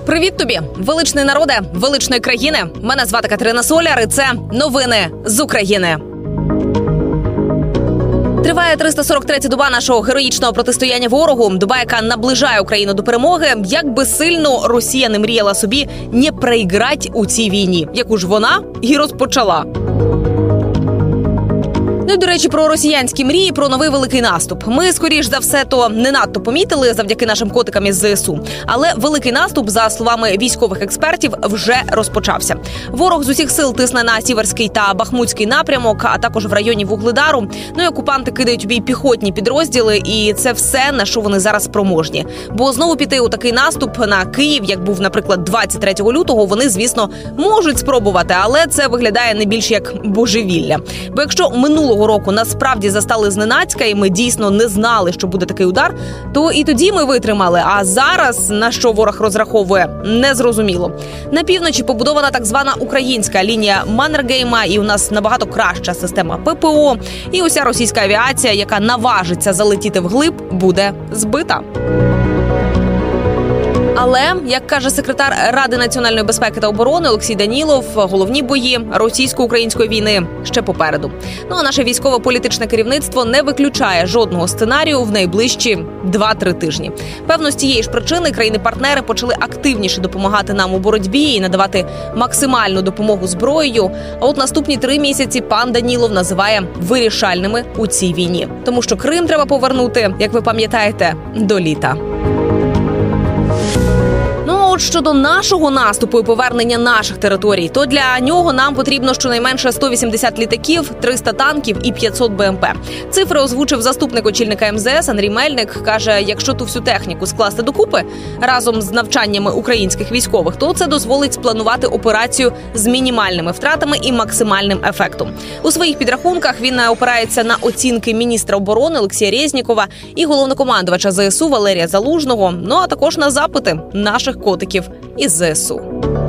Привіт тобі, величний народе, величної країни. Мене звати Катерина Соляр, і це новини з України. Триває 343-я доба нашого героїчного протистояння ворогу. Доба, яка наближає Україну до перемоги. Як би сильно Росія не мріяла собі не проіграти у цій війні, яку ж вона і розпочала. Ну і, до речі, про росіянські мрії, про новий великий наступ. Ми, скоріш за все, то не надто помітили завдяки нашим котикам із ЗСУ. Але великий наступ, за словами військових експертів, вже розпочався. Ворог з усіх сил тисне на Сіверський та Бахмутський напрямок, а також в районі Вугледару. Ну і окупанти кидають у бій піхотні підрозділи, і це все, на що вони зараз спроможні. Бо знову піти у такий наступ на Київ, як був, наприклад, 23 лютого, вони, звісно, можуть спробувати, але це виглядає не більш як божевілля. Бо якщо минулого року насправді застали зненацька, і ми дійсно не знали, що буде такий удар, то і тоді ми витримали. А зараз, на що ворог розраховує, незрозуміло. На півночі побудована так звана українська лінія Маннергейма, і у нас набагато краща система ППО. І уся російська авіація, яка наважиться залетіти вглиб, буде збита. Але, як каже секретар Ради національної безпеки та оборони Олексій Данілов, головні бої російсько-української війни ще попереду. Ну а наше військово-політичне керівництво не виключає жодного сценарію в найближчі 2-3 тижні. Певно, з тієї ж причини країни-партнери почали активніше допомагати нам у боротьбі і надавати максимальну допомогу зброєю. А от наступні 3 місяці пан Данілов називає вирішальними у цій війні. Тому що Крим треба повернути, як ви пам'ятаєте, до літа. От щодо нашого наступу і повернення наших територій, то для нього нам потрібно щонайменше 180 літаків, 300 танків і 500 БМП. Цифри озвучив заступник очільника МЗС Андрій Мельник. Каже, якщо ту всю техніку скласти докупи разом з навчаннями українських військових, то це дозволить спланувати операцію з мінімальними втратами і максимальним ефектом. У своїх підрахунках він опирається на оцінки міністра оборони Олексія Резнікова і головнокомандувача ЗСУ Валерія Залужного, ну а також на запити наших котиків із ЗСУ.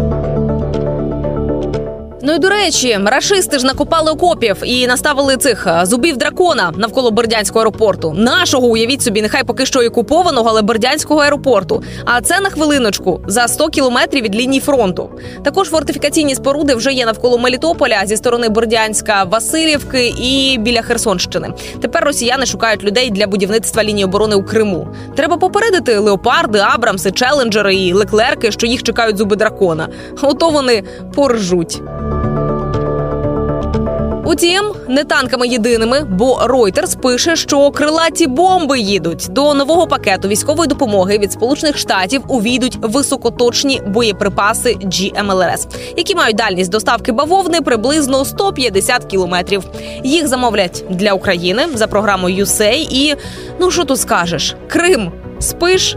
Ну і, до речі, рашисти ж накопали окопів і наставили цих зубів дракона навколо Бердянського аеропорту. Нашого, уявіть собі, нехай поки що і окупованого, але Бердянського аеропорту. А це, на хвилиночку, за 100 кілометрів від лінії фронту. Також фортифікаційні споруди вже є навколо Мелітополя, зі сторони Бердянська, Василівки і біля Херсонщини. Тепер росіяни шукають людей для будівництва лінії оборони у Криму. Треба попередити леопарди, абрамси, челенджери і леклерки, що їх чекають зуби дракона. Ото вони поржуть. Утім, не танками єдиними, бо Reuters пише, що крилаті бомби їдуть. До нового пакету військової допомоги від Сполучених Штатів увійдуть високоточні боєприпаси GMLRS, які мають дальність доставки бавовни приблизно 150 кілометрів. Їх замовлять для України за програмою USAID і, ну що тут скажеш, Крим, спиш?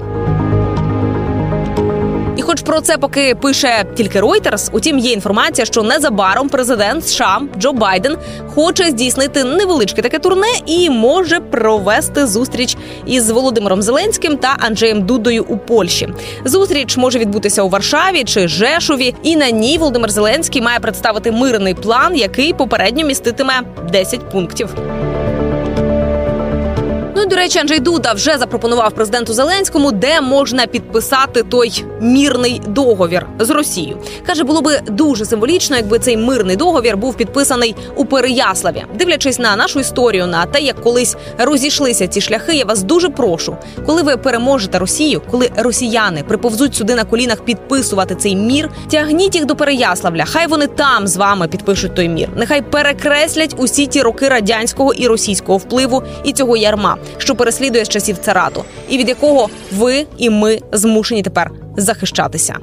І хоч про це поки пише тільки Reuters, утім є інформація, що незабаром президент США Джо Байден хоче здійснити невеличке таке турне і може провести зустріч із Володимиром Зеленським та Анджеєм Дудою у Польщі. Зустріч може відбутися у Варшаві чи Жешові, і на ній Володимир Зеленський має представити мирний план, який попередньо міститиме 10 пунктів. Ну і, до речі, Анджей Дуда вже запропонував президенту Зеленському, де можна підписати той мирний договір з Росією. Каже, було би дуже символічно, якби цей мирний договір був підписаний у Переяславі. Дивлячись на нашу історію, на те, як колись розійшлися ці шляхи, я вас дуже прошу, коли ви переможете Росію, коли росіяни приповзуть сюди на колінах підписувати цей мір, тягніть їх до Переяславля, хай вони там з вами підпишуть той мір. Нехай перекреслять усі ті роки радянського і російського впливу і цього ярма, що переслідує з часів царату, і від якого ви і ми змушені тепер захищатися.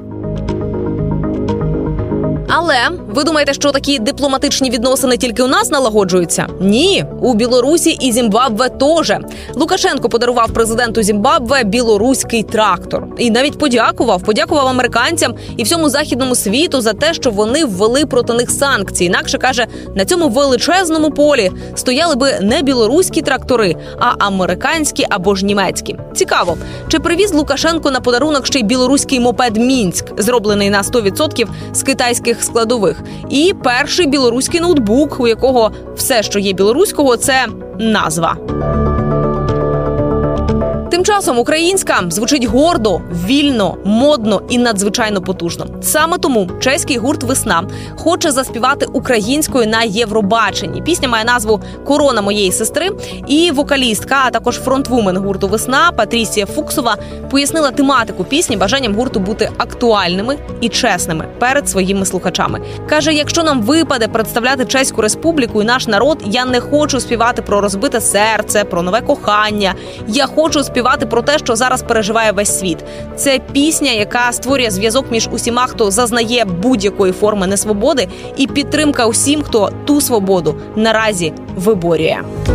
Але ви думаєте, що такі дипломатичні відносини тільки у нас налагоджуються? Ні, у Білорусі і Зімбабве теж. Лукашенко подарував президенту Зімбабве білоруський трактор. І навіть подякував американцям і всьому західному світу за те, що вони ввели проти них санкції. Інакше, каже, на цьому величезному полі стояли би не білоруські трактори, а американські або ж німецькі. Цікаво, чи привіз Лукашенко на подарунок ще й білоруський мопед «Мінськ», зроблений на 100% з китайських складових, і перший білоруський ноутбук, у якого все, що є білоруського, це назва. Тим часом українська звучить гордо, вільно, модно і надзвичайно потужно. Саме тому чеський гурт «Весна» хоче заспівати українською на Євробаченні. Пісня має назву «Корона моєї сестри». І вокалістка, а також фронтвумен гурту «Весна» Патрісія Фуксова пояснила тематику пісні бажанням гурту бути актуальними і чесними перед своїми слухачами. Каже, якщо нам випаде представляти Чеську Республіку і наш народ, я не хочу співати про розбите серце, про нове кохання. Я хочу співати про те, що зараз переживає весь світ. Це пісня, яка створює зв'язок між усіма, хто зазнає будь-якої форми несвободи, і підтримка усім, хто ту свободу наразі виборює.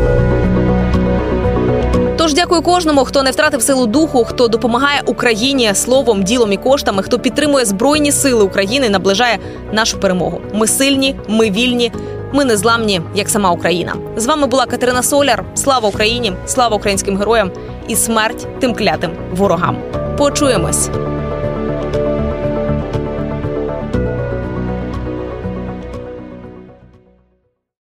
Тож дякую кожному, хто не втратив силу духу, хто допомагає Україні словом, ділом і коштами, хто підтримує Збройні сили України і наближає нашу перемогу. Ми сильні, ми вільні, ми незламні, як сама Україна. З вами була Катерина Соляр. Слава Україні, слава українським героям і смерть тим клятим ворогам. Почуємось!